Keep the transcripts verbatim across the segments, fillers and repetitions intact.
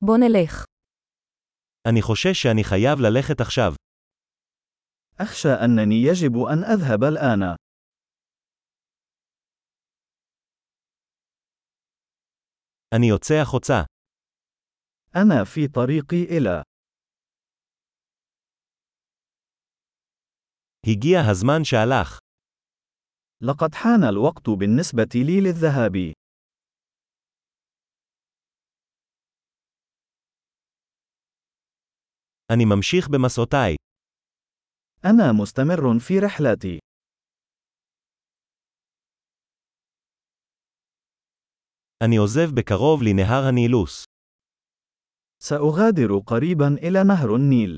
בוא נלך. אני חושש שאני חייב ללכת עכשיו. أخشى أنني يجب أن أذهب الآن. אני יוצא החוצה. أنا في طريقي إلى. הגיע הזמן שהלך. لقد حان الوقت بالنسبة لي للذهاب. אני ממשיך במסעותיי. أنا مستمر في رحلتي. אני עוזב בקרוב לנהר הנילוס. سأغادر قريبا إلى نهر النيل.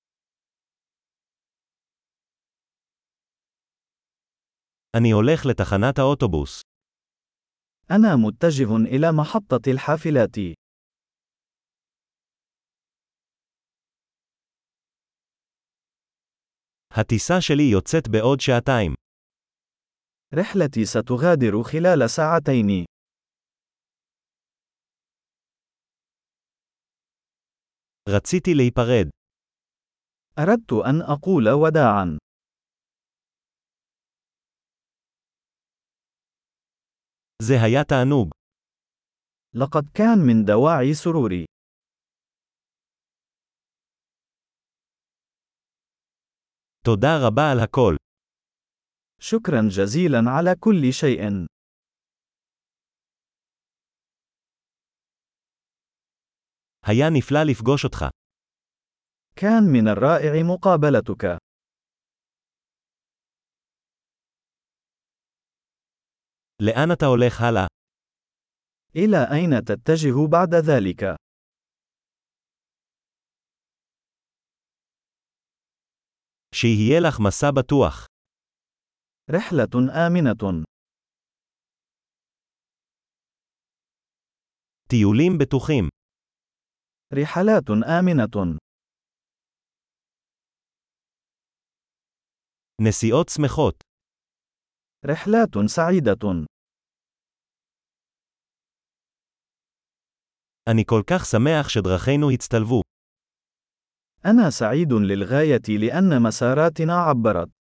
אני הולך לתחנת האוטובוס. أنا متجه إلى محطة الحافلات. הטיסה שלי יוצאת בעוד שעתיים. رحلتي ستغادر خلال ساعتين. רציתי להיפרד. أردت أن أقول وداعا. זה היה תענוג. لقد كان من دواعي سروري. תודה רבה על הכל. شكرا جزيلا على كل شيء. היה נפלא לפגוש אותך. كان من الرائع مقابلتك. לאן אתה הולך הלאה? إلى أين تتجه بعد ذلك؟ שיהיה לך מסע בטוח. رحلة آمنة. טיולים בטוחים. رحلات آمنة. נסיעות שמחות. رحلات سعيدة. אני כל כך שמח שדרכינו הצטלבו. أنا سعيد للغاية لأن مساراتنا عبرت.